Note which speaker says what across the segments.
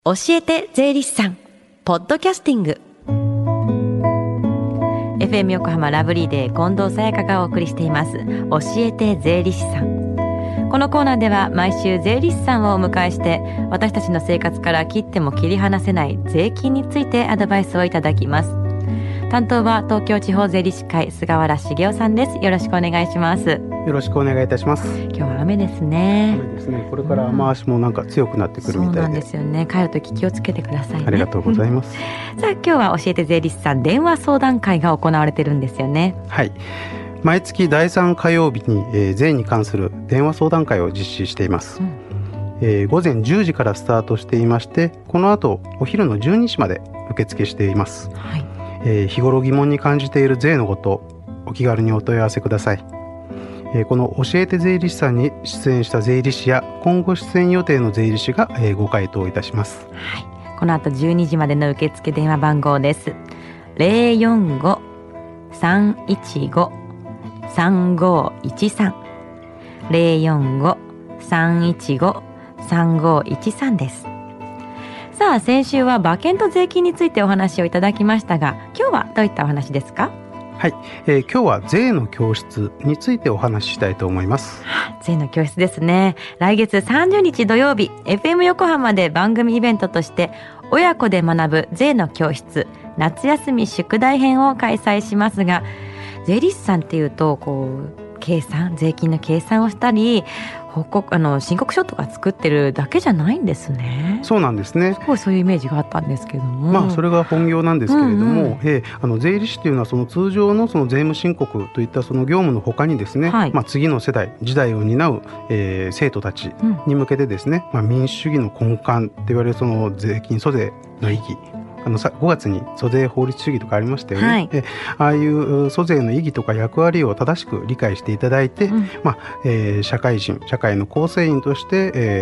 Speaker 1: 教えて税理士さんポッドキャスティング FM 横浜ラブリーデー近藤沙耶香がお送りしています教えて税理士さん。このコーナーでは毎週税理士さんをお迎えして私たちの生活から切っても切り離せない税金についてアドバイスをいただきます。担当は東京地方税理士会菅原茂雄さんです。よろしくお願いします。
Speaker 2: よろしくお願いいたします。
Speaker 1: 今日は雨ですね。
Speaker 2: 雨ですね。これから雨足もなんか強くなってくるみたいで、
Speaker 1: そうなんですよね。帰るとき気をつけてくださいね。
Speaker 2: ありがとうございます。
Speaker 1: さあ今日は教えて税理士さん電話相談会が行われてるんですよね。
Speaker 2: はい、毎月第3火曜日に、税に関する電話相談会を実施しています。午前10時からスタートしていまして、この後お昼の12時まで受付しています。はい。日頃疑問に感じている税のこと、お気軽にお問い合わせください。この教えて税理士さんに出演した税理士や今後出演予定の税理士が、ご回答いたします。
Speaker 1: はい、この後12時までの受付電話番号です。 045-315-3513 045-315-3513 です。さあ先週は馬券と税金についてお話をいただきましたが、今日はどういったお話ですか？
Speaker 2: はい、今日は税の教室についてお話ししたいと思います。
Speaker 1: 税の教室ですね。来月30日土曜日 FM 横浜で番組イベントとして親子で学ぶ税の教室夏休み宿題編を開催しますが、税理士さんっていうと計算、税金の計算をしたり申告書とか作ってるだけじゃないんですね。
Speaker 2: そうなんですね。
Speaker 1: すごいそういうイメージがあったんですけども、
Speaker 2: それが本業なんですけれども、税理士というのはその通常のその税務申告といったその業務の他にですね、次の世代時代を担う、生徒たちに向けてですね、民主主義の根幹って言われるその税金租税の意義、5月に租税法律主義とかありましたよね。ああいう租税の意義とか役割を正しく理解していただいて、社会人、社会の構成員として、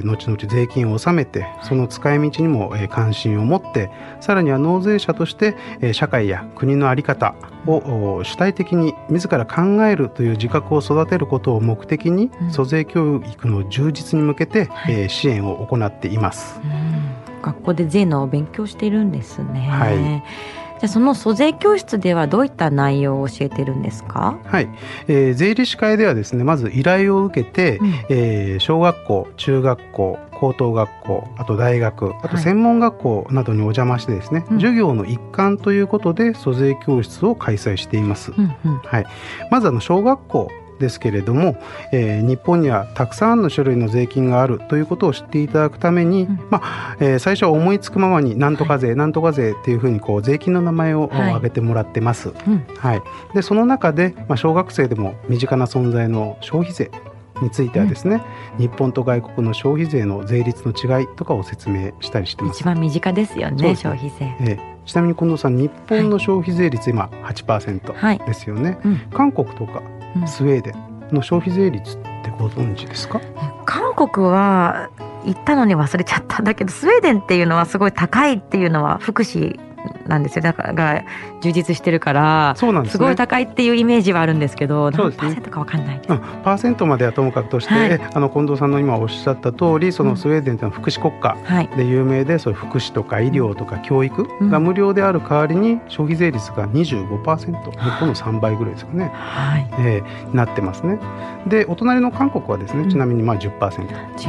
Speaker 2: 後々税金を納めて、その使い道にも、関心を持って、さらには納税者として、社会や国の在り方を主体的に自ら考えるという自覚を育てることを目的に、租税教育の充実に向けて、支援を行っています。
Speaker 1: 学校で税の勉強しているんですね。じゃあその租税教室ではどういった内容を教えているんですか？
Speaker 2: はい、税理士会ではですね、まず依頼を受けて、小学校、中学校、高等学校、あと大学、あと専門学校などにお邪魔してですね、授業の一環ということで租税教室を開催しています。まず小学校ですけれども、日本にはたくさんの種類の税金があるということを知っていただくために、最初は思いつくままになんとか税、なんとか税っていうふうに税金の名前を挙げてもらってます。でその中で、小学生でも身近な存在の消費税についてはですね、日本と外国の消費税の税率の違いとかを説明したりしてます。
Speaker 1: 一番身近ですよね、消費税。
Speaker 2: ちなみに近藤さん、日本の消費税率今 8% ですよね。韓国とかスウェーデンの消費税率ってご存知ですか？
Speaker 1: 韓国は行ったのに忘れちゃったんだけど、スウェーデンっていうのはすごい高いっていうのは福祉なんですよ。だから充実してるから、すごい高いっていうイメージはあるんですけど、何パーセントか分かんないです。
Speaker 2: パーセントまではともかくとして、近藤さんの今おっしゃった通り、そのスウェーデンというのは福祉国家で有名で、そういう福祉とか医療とか教育が無料である代わりに消費税率が 25%、日本の3倍ぐらいですかね、なってますね。でお隣の韓国はですね、ちなみに10%。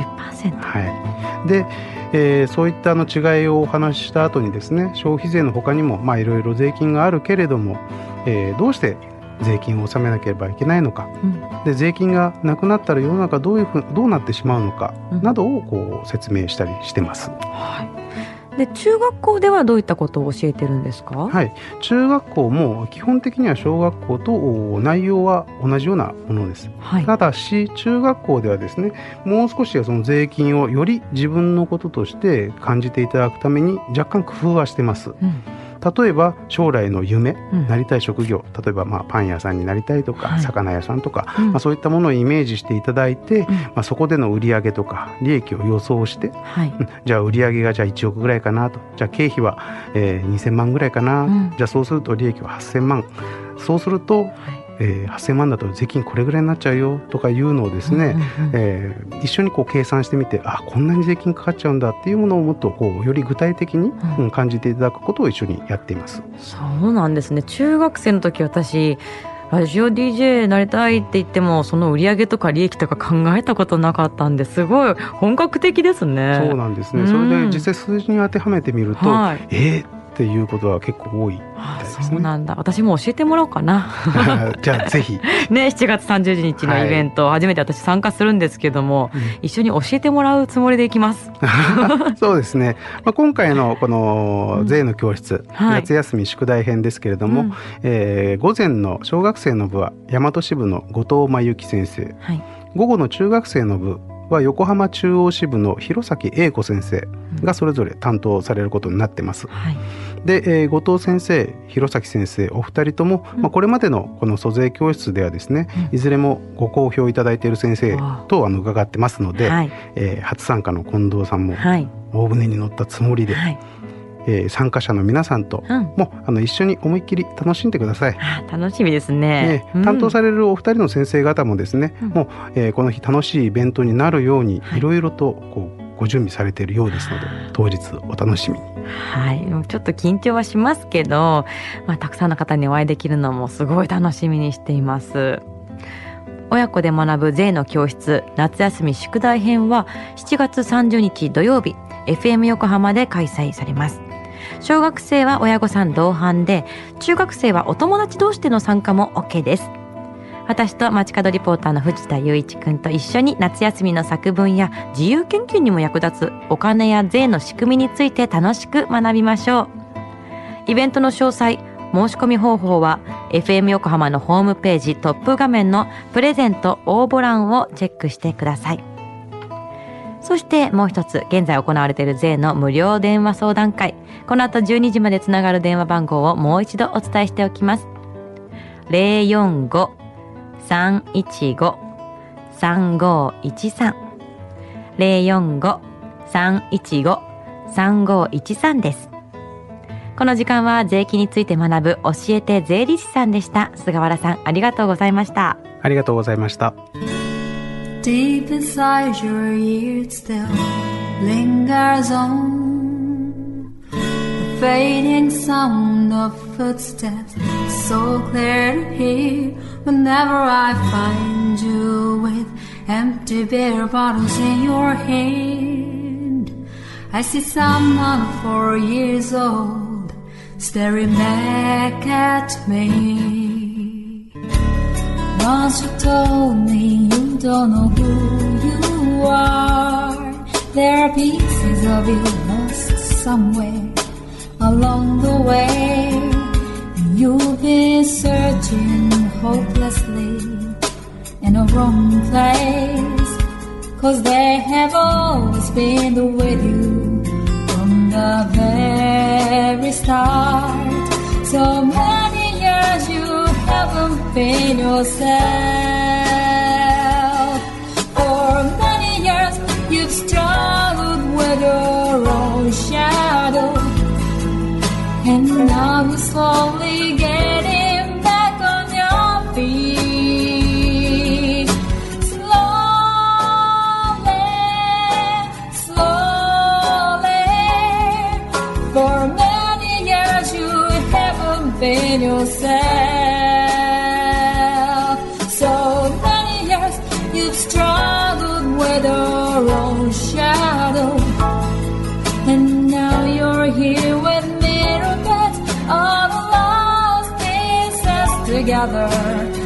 Speaker 2: でそういった違いをお話しした後にですね、消費税の他にもいろいろ税金があるけれども、どうして税金を納めなければいけないのか、で税金がなくなったら世の中どうなってしまうのかなどを説明したりしてます。
Speaker 1: で中学校ではどういったことを教えてるんですか？
Speaker 2: 中学校も基本的には小学校と内容は同じようなものです。ただし中学校ではですね、もう少しその税金をより自分のこととして感じていただくために若干工夫はしてます。例えば将来の夢、なりたい職業、例えばパン屋さんになりたいとか、魚屋さんとか、そういったものをイメージしていただいて、そこでの売上とか利益を予想して、じゃあ売上がじゃあ1億ぐらいかなと、じゃあ経費は、2000万ぐらいかな、じゃあそうすると利益は8000万、そうすると、 8000万だと税金これぐらいになっちゃうよとかいうのをですね、一緒にこう計算してみて、こんなに税金かかっちゃうんだっていうものをもっとこうより具体的に、感じていただくことを一緒にやっています。
Speaker 1: そうなんですね。中学生の時、私ラジオ DJ なりたいって言ってもその売り上げとか利益とか考えたことなかったんで、すごい本格的ですね。
Speaker 2: そうなんですね、それで実際数字に当てはめてみると、っていうことは結構多いみたいですね。
Speaker 1: そうなんだ。私も教えてもらおうかな
Speaker 2: じゃあぜひね、
Speaker 1: 7月30日のイベント、初めて私参加するんですけども、一緒に教えてもらうつもりでいきます
Speaker 2: そうですね、今回のこの税の教室、夏休み宿題編ですけれども、午前の小学生の部は大和支部の後藤真由紀先生、午後の中学生の部は横浜中央支部の弘前英子先生がそれぞれ担当されることになってます。で、後藤先生、弘前先生、お二人とも、これまでのこの租税教室ではですね、いずれもご好評いただいている先生と伺ってますので、初参加の近藤さんも大船に乗ったつもりで、参加者の皆さんとも、一緒に思いっきり楽しんでください。
Speaker 1: 楽しみですね。
Speaker 2: 担当されるお二人の先生方もですね、もう、この日楽しいイベントになるようにいろいろとこうご準備されているようですので、当日お楽しみに。
Speaker 1: ちょっと緊張はしますけど、たくさんの方にお会いできるのもすごい楽しみにしています。親子で学ぶ税の教室夏休み宿題編は7月30日土曜日 FM 横浜で開催されます。小学生は親御さん同伴で、中学生はお友達同士での参加も OK です。私と街角リポーターの藤田雄一くんと一緒に夏休みの作文や自由研究にも役立つお金や税の仕組みについて楽しく学びましょう。イベントの詳細、申し込み方法は FM 横浜のホームページトップ画面のプレゼント応募欄をチェックしてください。そしてもう一つ、現在行われている税の無料電話相談会、この後12時までつながる電話番号をもう一度お伝えしておきます。 045-315-3513 045-315-3513 です。この時間は税金について学ぶ教えて税理士さんでした。菅原さん、ありがとうございました。
Speaker 2: ありがとうございました。
Speaker 3: Deep inside your ears still lingers on the fading sound of footsteps, so clear to hear whenever I find you with empty beer bottles in your hand. I see someone 4 years old staring back at me.Once you told me you don't know who you are. There are pieces of you lost somewhere along the way, and you've been searching hopelessly in a wrong place, 'cause they have always been with you from the very start. So many years you haven't been yourself. For many years you've struggled with your own shadow, and now you're slowly getting back on your feet. Slowly, slowly. For many years you haven't been yourself.So many years you've struggled with your own shadow, and now you're here with mirror beds, all the lost pieces together.